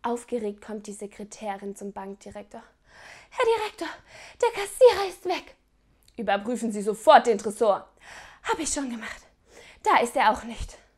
Aufgeregt kommt die Sekretärin zum Bankdirektor. Herr Direktor, der Kassierer ist weg. Überprüfen Sie sofort den Tresor. Habe ich schon gemacht. Da ist er auch nicht.